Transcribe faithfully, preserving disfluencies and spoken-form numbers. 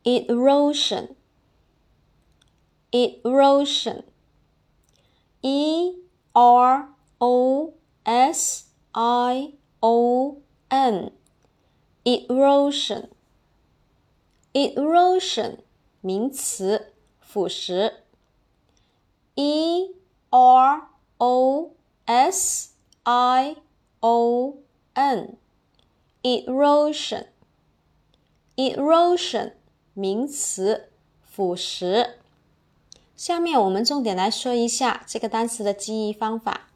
erosion erosion E R O S I O N erosion erosion 名词，腐蚀 E R O S I O N erosion erosion 名词，腐蚀。下面我们重点来说一下这个单词的记忆方法。